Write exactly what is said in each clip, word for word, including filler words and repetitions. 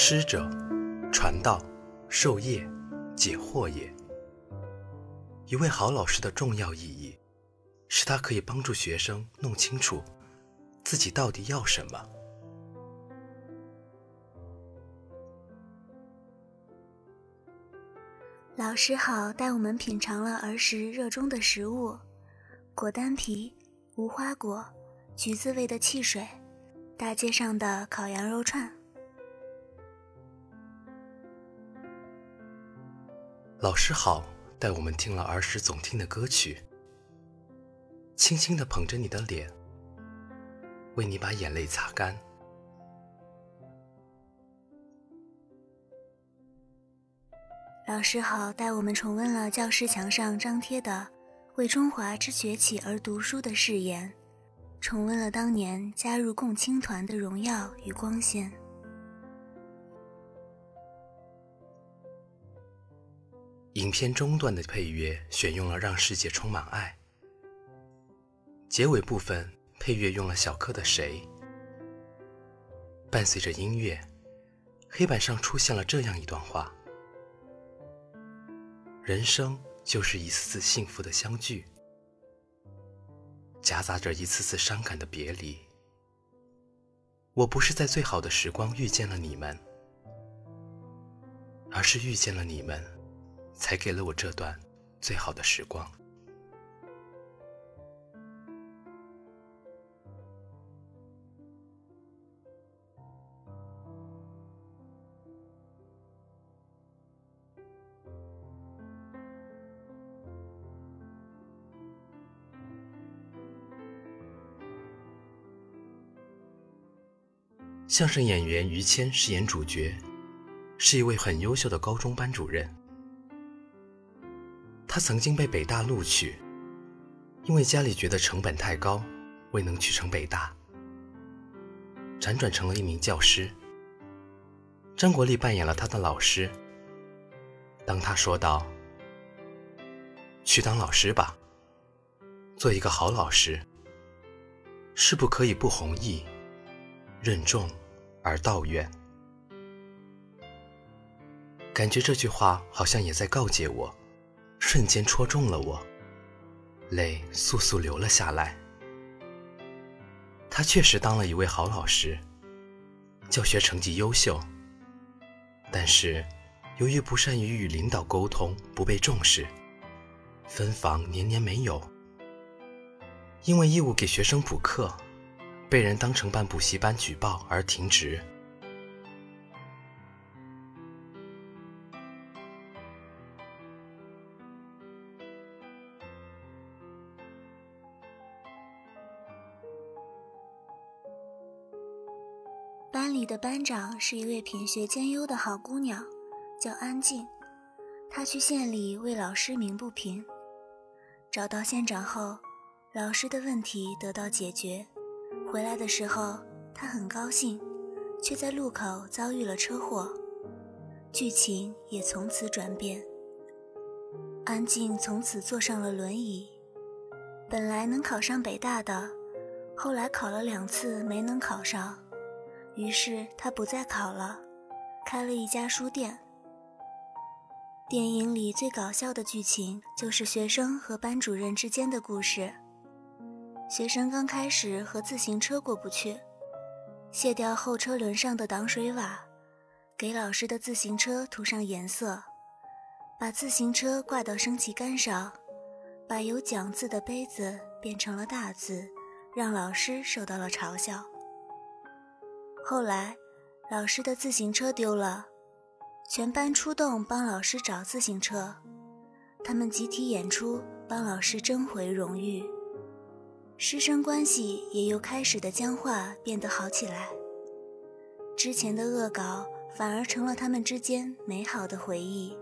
师者，传道、授业、解惑也。一位好老师的重要意义，是他可以帮助学生弄清楚自己到底要什么。 老师好带我们品尝了儿时热衷的食物，果丹皮、无花果、橘子味的汽水，大街上的烤羊肉串。 老师好带我们听了儿时总听的歌曲，轻轻地捧着你的脸，为你把眼泪擦干。 老师好带我们重温了教室墙上张贴的为中华之崛起而读书的誓言，重温了当年加入共青团的荣耀与光鲜。 影片中段的配乐选用了让世界充满爱，结尾部分配乐用了小柯的谁。伴随着音乐，黑板上出现了这样一段话：人生就是一次次幸福的相聚，夹杂着一次次伤感的别离。我不是在最好的时光遇见了你们，而是遇见了你们，才给了我这段最好的时光。相声演员于谦饰演主角，是一位很优秀的高中班主任。他曾经被北大录取，因为家里觉得成本太高，未能去成北大，辗转成了一名教师。张国立扮演了他的老师。当他说道：去当老师吧，做一个好老师，是不可以不弘毅，任重而道远。感觉这句话好像也在告诫我，瞬间戳中了我，泪簌簌流了下来。他确实当了一位好老师，教学成绩优秀，但是由于不善于与领导沟通，不被重视，分房年年没有。因为义务给学生补课，被人当成办补习班举报而停职。 班里的班长是一位品学兼优的好姑娘，叫安静。她去县里为老师鸣不平，找到县长后，老师的问题得到解决。回来的时候，她很高兴，却在路口遭遇了车祸，剧情也从此转变。安静从此坐上了轮椅，本来能考上北大的，后来考了两次没能考上，于是他不再考了，开了一家书店。电影里最搞笑的剧情就是学生和班主任之间的故事。学生刚开始和自行车过不去，卸掉后车轮上的挡水瓦，给老师的自行车涂上颜色，把自行车挂到升旗杆上，把有讲字的杯子变成了大字，让老师受到了嘲笑。后来老师的自行车丢了，全班出动帮老师找自行车，他们集体演出帮老师争回荣誉。师生关系也由开始的僵化变得好起来，之前的恶搞反而成了他们之间美好的回忆。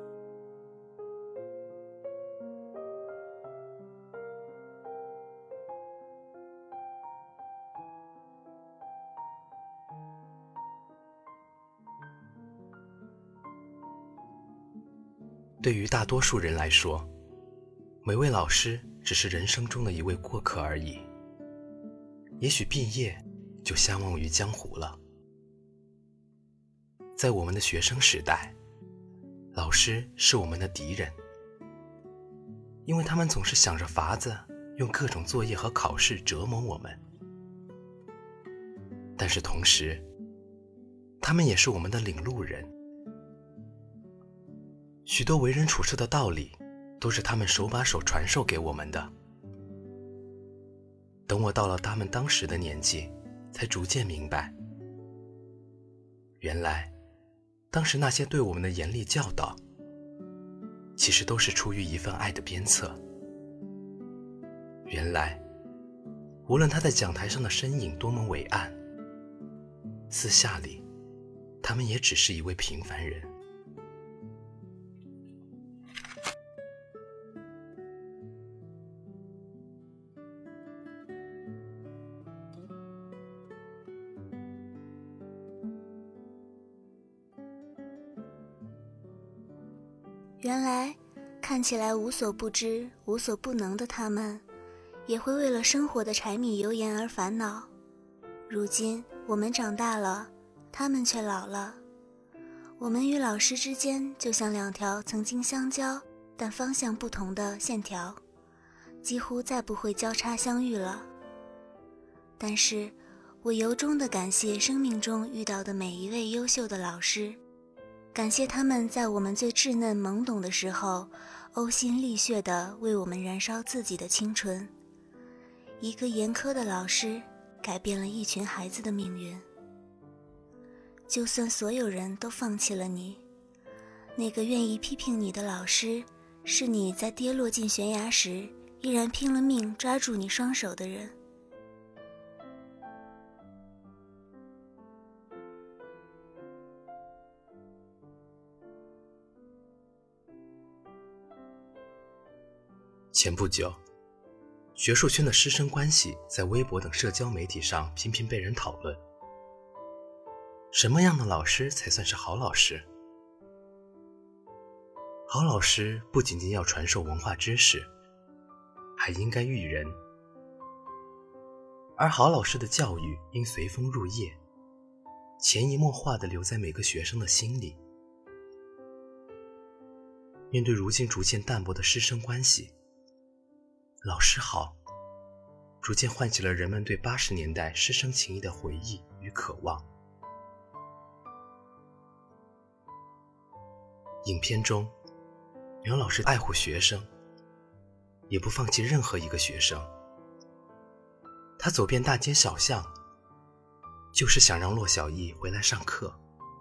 对于大多数人来说，每位老师只是人生中的一位过客而已，也许毕业就相忘于江湖了。 在我们的学生时代，老师是我们的敌人，因为他们总是想着法子用各种作业和考试折磨我们。但是同时，他们也是我们的领路人，许多为人处事的道理都是他们手把手传授给我们的。等我到了他们当时的年纪，才逐渐明白，原来当时那些对我们的严厉教导，其实都是出于一份爱的鞭策。原来无论他在讲台上的身影多么伟岸，私下里他们也只是一位平凡人。 原来看起来无所不知无所不能的他们，也会为了生活的柴米油盐而烦恼。如今我们长大了，他们却老了。我们与老师之间就像两条曾经相交但方向不同的线条，几乎再不会交叉相遇了。但是我由衷地感谢生命中遇到的每一位优秀的老师，感谢他们在我们最稚嫩懵懂的时候，呕心沥血地为我们燃烧自己的青春。一个严苛的老师改变了一群孩子的命运。就算所有人都放弃了你，那个愿意批评你的老师，是你在跌落进悬崖时依然拼了命抓住你双手的人。 前不久，学术圈的师生关系在微博等社交媒体上频频被人讨论。什么样的老师才算是好老师？好老师不仅仅要传授文化知识，还应该育人。而好老师的教育应随风入叶，潜移默化地留在每个学生的心里。面对如今逐渐淡薄的师生关系，老师好逐渐唤起了人们对八十年代师生情谊的回忆与渴望。影片中，苗老师爱护学生，也不放弃任何一个学生。他走遍大街小巷，就是想让骆小艺回来上课。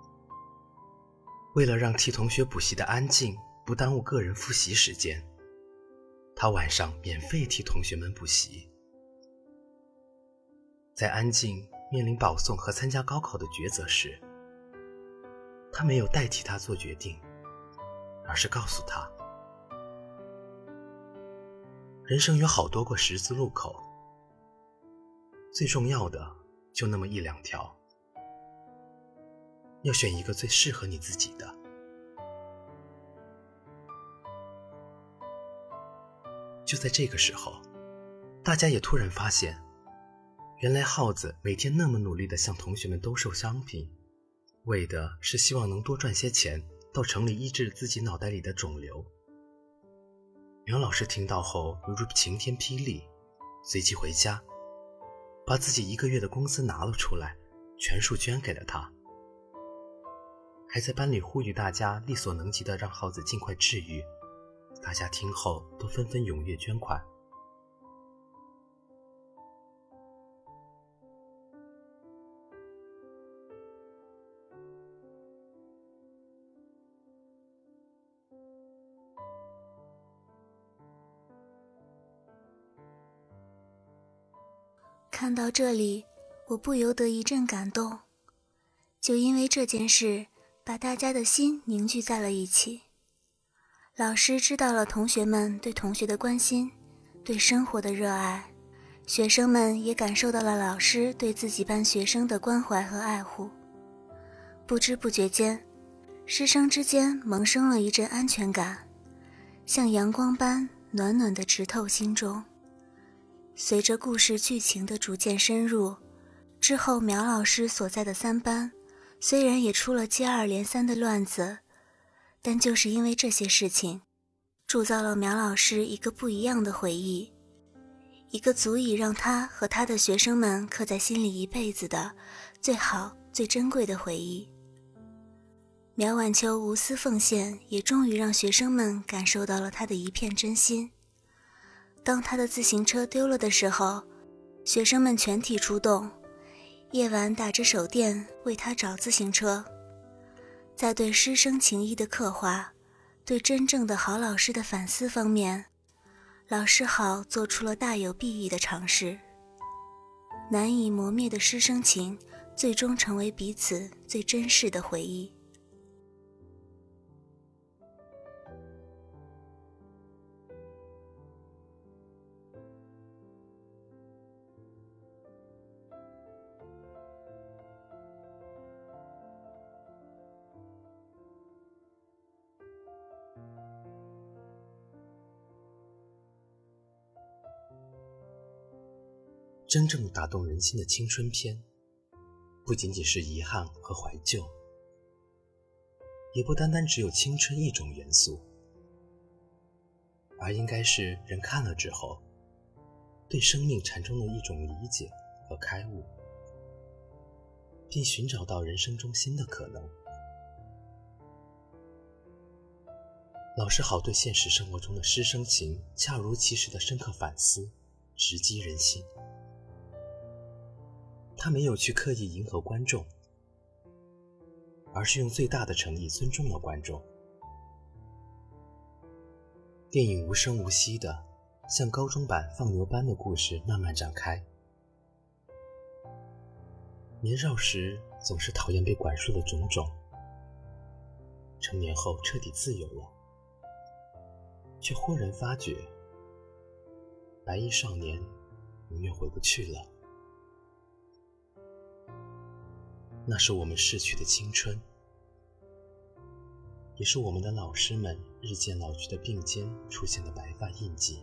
为了让替同学补习的安静不耽误个人复习时间，他晚上免费替同学们补习。在安静面临保送和参加高考的抉择时，他没有代替他做决定，而是告诉他，人生有好多个十字路口，最重要的就那么一两条，要选一个最适合你自己的。就在这个时候，大家也突然发现，原来耗子每天那么努力地向同学们兜售商品，为的是希望能多赚些钱，到城里医治自己脑袋里的肿瘤。苗老师听到后犹如晴天霹雳，随即回家，把自己一个月的工资拿了出来，全数捐给了他，还在班里呼吁大家力所能及的让耗子尽快治愈。大家听后都纷纷踊跃捐款。 看到这里，我不由得一阵感动，就因为这件事，把大家的心凝聚在了一起。老师知道了同学们对同学的关心，对生活的热爱，学生们也感受到了老师对自己班学生的关怀和爱护。不知不觉间，师生之间萌生了一阵安全感，像阳光般暖暖地直透心中。随着故事剧情的逐渐深入，之后苗老师所在的三班虽然也出了接二连三的乱子，但就是因为这些事情，铸造了苗老师一个不一样的回忆，一个足以让他和他的学生们刻在心里一辈子的最好最珍贵的回忆。苗晚秋无私奉献，也终于让学生们感受到了他的一片真心。当他的自行车丢了的时候，学生们全体出动，夜晚打着手电为他找自行车。在对师生情谊的刻画，对真正的好老师的反思方面，老师好做出了大有裨益的尝试。难以磨灭的师生情，最终成为彼此最珍视的回忆。 真正打动人心的青春片，不仅仅是遗憾和怀旧，也不单单只有青春一种元素，而应该是人看了之后，对生命产生了一种理解和开悟，并寻找到人生中新的可能。老师好对现实生活中的师生情恰如其时的深刻反思，直击人心。他没有去刻意迎合观众，而是用最大的诚意尊重了观众。电影无声无息地像高中版放牛班的故事慢慢展开。年少时总是讨厌被管束的种种，成年后彻底自由了，却忽然发觉白衣少年永远回不去了。那是我们逝去的青春，也是我们的老师们日渐老去的鬓间出现的白发印记，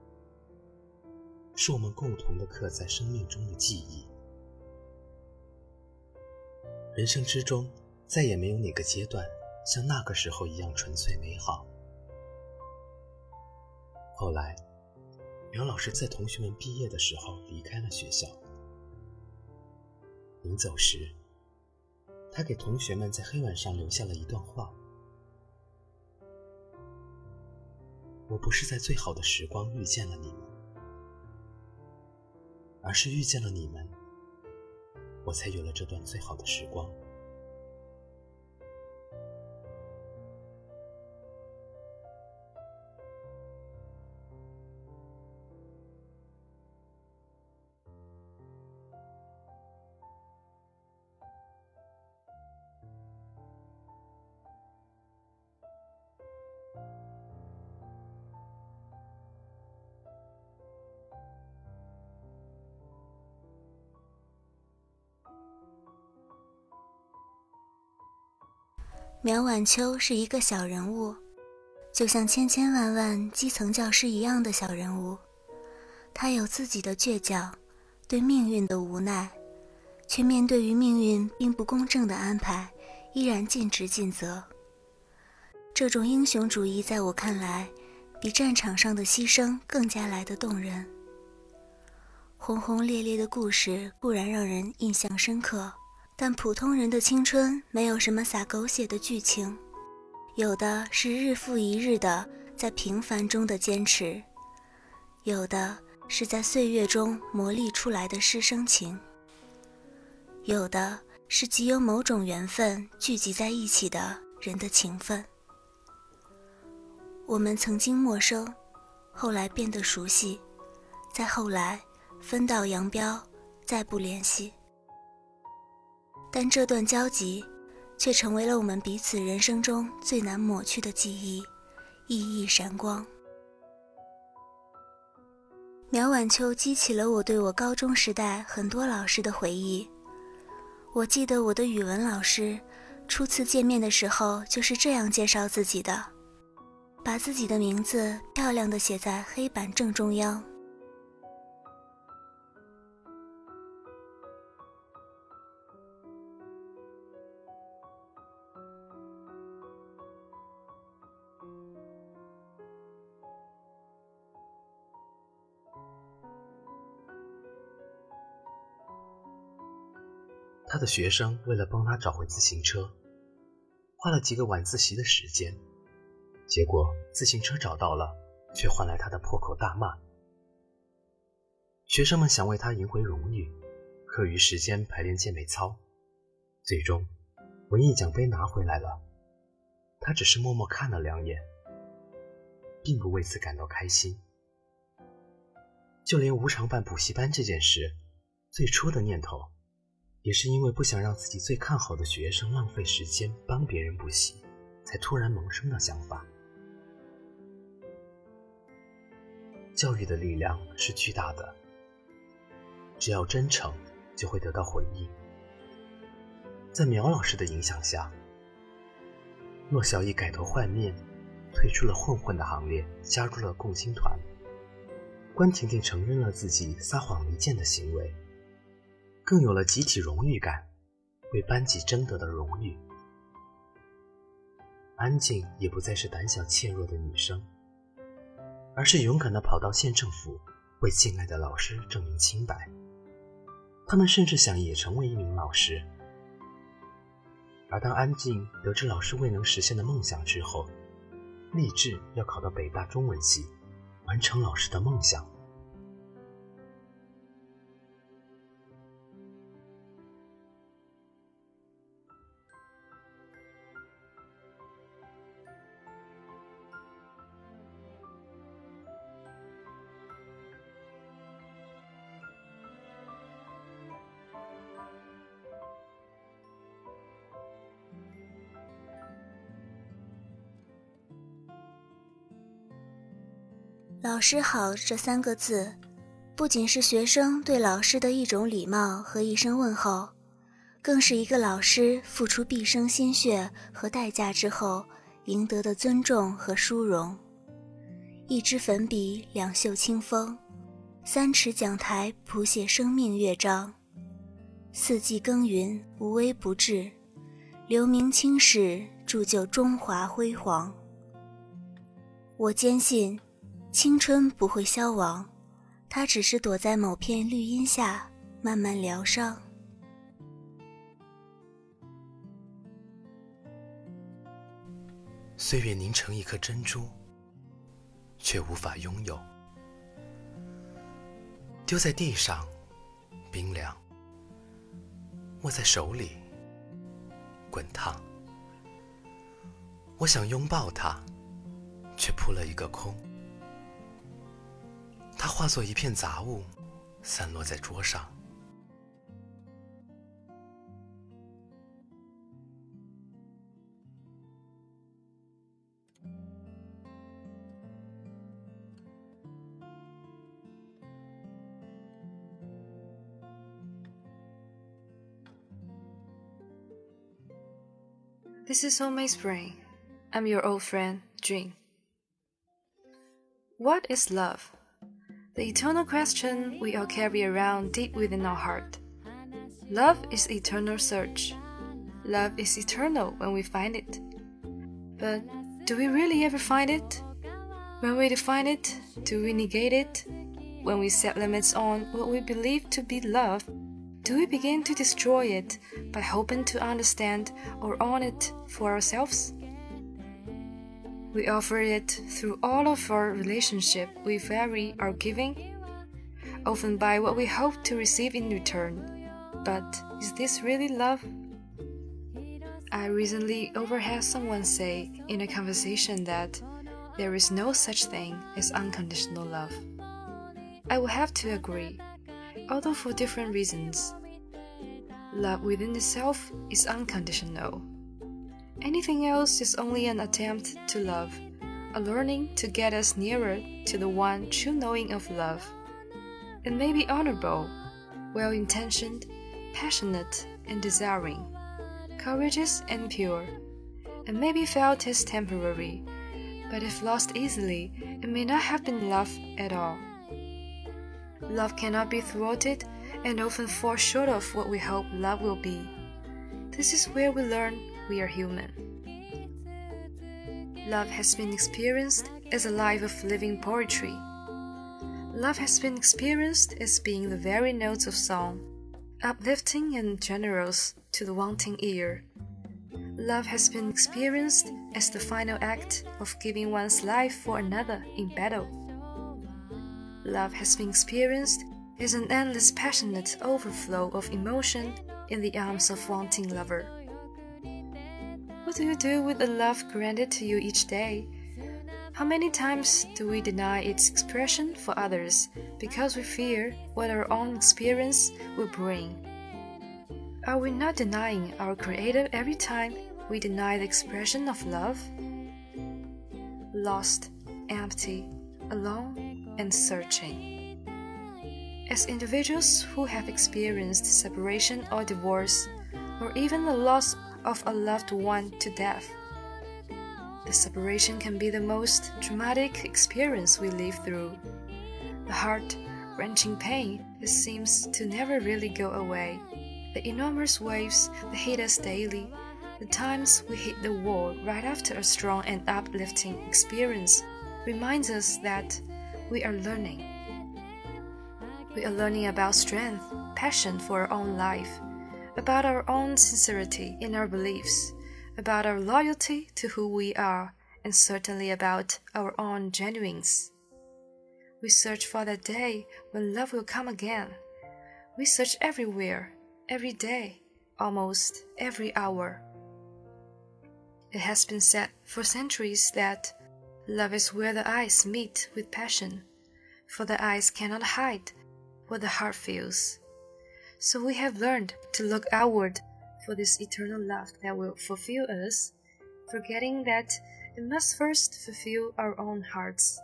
是我们共同的刻在生命中的记忆。人生之中再也没有哪个阶段像那个时候一样纯粹美好。后来苗老师在同学们毕业的时候离开了学校，临走时他给同学们在黑板上留下了一段话：我不是在最好的时光遇见了你们，而是遇见了你们，我才有了这段最好的时光。 苗晚秋是一个小人物，就像千千万万基层教师一样的小人物。他有自己的倔强，对命运的无奈，却面对于命运并不公正的安排，依然尽职尽责。这种英雄主义在我看来，比战场上的牺牲更加来得动人。轰轰烈烈的故事固然让人印象深刻，但普通人的青春没有什么洒狗血的剧情，有的是日复一日的在平凡中的坚持，有的是在岁月中磨砺出来的师生情，有的是极有某种缘分聚集在一起的人的情分。我们曾经陌生，后来变得熟悉，再后来分道扬镳，再不联系。但这段交集却成为了我们彼此人生中最难抹去的记忆，熠熠闪光。苗晚秋激起了我对我高中时代很多老师的回忆。我记得我的语文老师初次见面的时候就是这样介绍自己的，把自己的名字漂亮地写在黑板正中央。 他的学生为了帮他找回自行车，花了几个晚自习的时间，结果自行车找到了，却换来他的破口大骂。学生们想为他赢回荣誉，课余时间排练健美操，最终文艺奖杯拿回来了，他只是默默看了两眼，并不为此感到开心。就连无偿办补习班这件事，最初的念头也是因为不想让自己最看好的学生浪费时间帮别人补习，才突然萌生的想法。教育的力量是巨大的，只要真诚就会得到回应。在苗老师的影响下，骆小艺改头换面，退出了混混的行列，加入了共青团。关婷婷承认了自己撒谎离间的行为，更有了集体荣誉感，为班级争得的荣誉。安静也不再是胆小怯弱的女生，而是勇敢地跑到县政府，为敬爱的老师证明清白。他们甚至想也成为一名老师。而当安静得知老师未能实现的梦想之后，立志要考到北大中文系，完成老师的梦想。 老师好这三个字，不仅是学生对老师的一种礼貌和一声问候，更是一个老师付出毕生心血和代价之后赢得的尊重和殊荣。一支粉笔，两袖清风，三尺讲台谱写生命乐章，四季耕耘无微不至，留名青史，铸就中华辉煌。我坚信青春不会消亡，它只是躲在某片绿荫下慢慢疗伤。 岁月凝成一颗珍珠，却无法拥有，丢在地上冰凉，握在手里滚烫。我想拥抱它，却扑了一个空。它化作一片杂物，散落在桌上。 This is Homemade Spring. I'm your old friend, Jun. What is love? The eternal question we all carry around deep within our heart. Love is eternal search. Love is eternal when we find it. But do we really ever find it? When we define it, do we negate it? When we set limits on what we believe to be love, do we begin to destroy it by hoping to understand or own it for ourselves? We offer it through all of our relationship. We vary our giving, often by what we hope to receive in return. But is this really love? I recently overheard someone say in a conversation that there is no such thing as unconditional love. I will have to agree, although for different reasons. Love within itself is unconditional. Anything else is only an attempt to love, a learning to get us nearer to the one true knowing of love. It may be honorable, well-intentioned, passionate and desiring, courageous and pure. It may be felt as temporary, but if lost easily, it may not have been love at all. Love cannot be thwarted and often falls short of what we hope love will be. This is where we learn we are human. Love has been experienced as a life of living poetry. Love has been experienced as being the very notes of song, uplifting and generous to the wanting ear. Love has been experienced as the final act of giving one's life for another in battle. Love has been experienced as an endless passionate overflow of emotion in the arms of wanting lover. What do you do with the love granted to you each day? How many times do we deny its expression for others because we fear what our own experience will bring? Are we not denying our Creator every time we deny the expression of love? Lost, empty, alone, and searching. As individuals who have experienced separation or divorce, or even the loss of a loved one to death, the separation can be the most traumatic experience we live through. The heart-wrenching pain that seems to never really go away. The enormous waves that hit us daily. The times we hit the wall right after a strong and uplifting experience reminds us that we are learning. We are learning about strength, passion for our own life, about our own sincerity in our beliefs, about our loyalty to who we are, and certainly about our own genuineness. We search for that day when love will come again. We search everywhere, every day, almost every hour. It has been said for centuries that love is where the eyes meet with passion, for the eyes cannot hide what the heart feels. So we have learned to look outward for this eternal love that will fulfill us, forgetting that it must first fulfill our own hearts.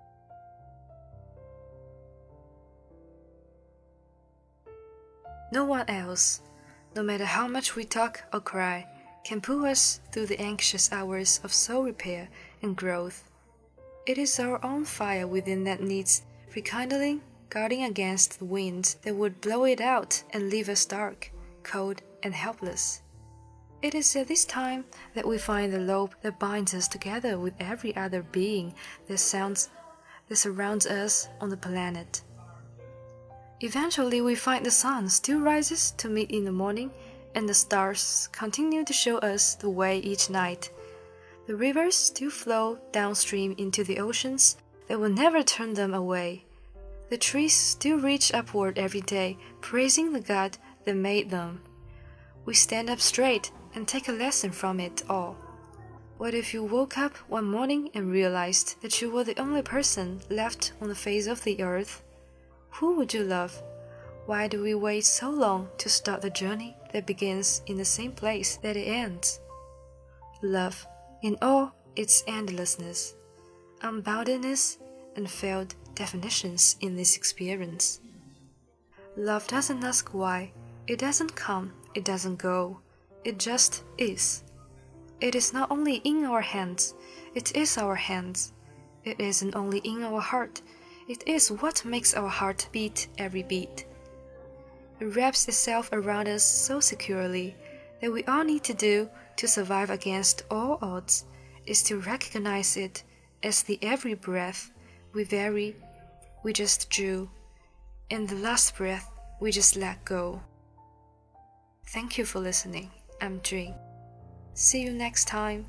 No one else, no matter how much we talk or cry, can pull us through the anxious hours of soul repair and growth. It is our own fire within that needs rekindling, guarding against the winds that would blow it out and leave us dark, cold, and helpless. It is at this time that we find the rope that binds us together with every other being that sounds that surrounds us on the planet. Eventually we find the sun still rises to meet in the morning, and the stars continue to show us the way each night. The rivers still flow downstream into the oceans that will never turn them away. The trees still reach upward every day, praising the God that made them. We stand up straight and take a lesson from it all. What if you woke up one morning and realized that you were the only person left on the face of the earth? Who would you love? Why do we wait so long to start the journey that begins in the same place that it ends? Love, in all its endlessness, unboundedness, and failed definitions in this experience. Love doesn't ask why, it doesn't come, it doesn't go, it just is. It is not only in our hands, it is our hands. It isn't only in our heart, it is what makes our heart beat every beat. It wraps itself around us so securely that we all need to do to survive against all odds is to recognize it as the every breath we vary, we just drew, and the last breath we just let go. Thank you for listening. I'm Jing. See you next time.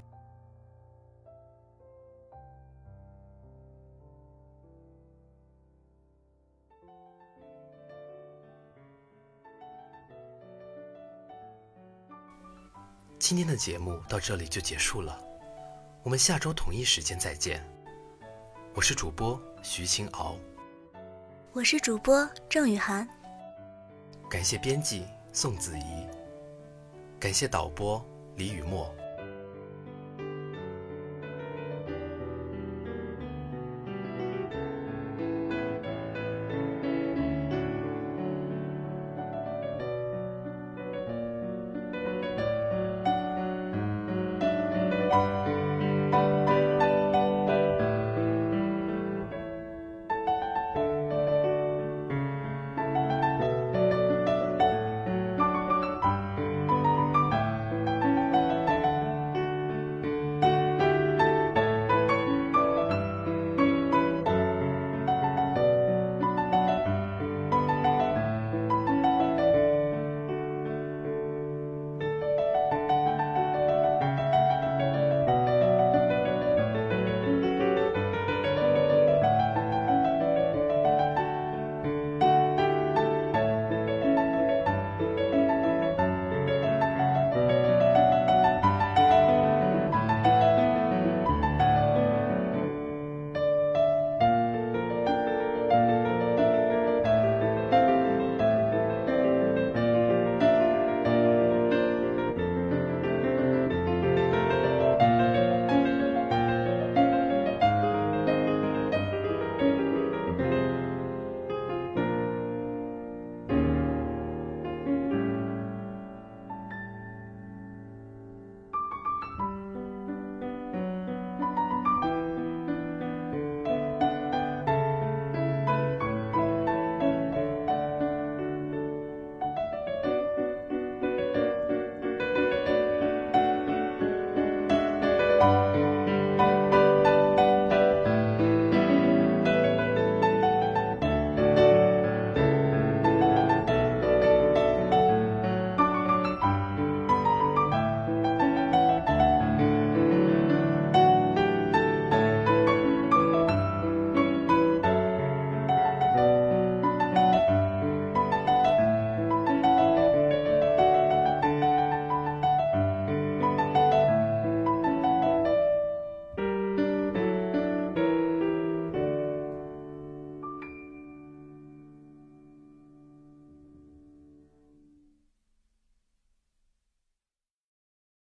今天的节目到这里就结束了，我们下周同一时间再见。我是主播徐清敖， 我是主播郑雨涵， 感谢编辑宋子怡，感谢导播李雨墨。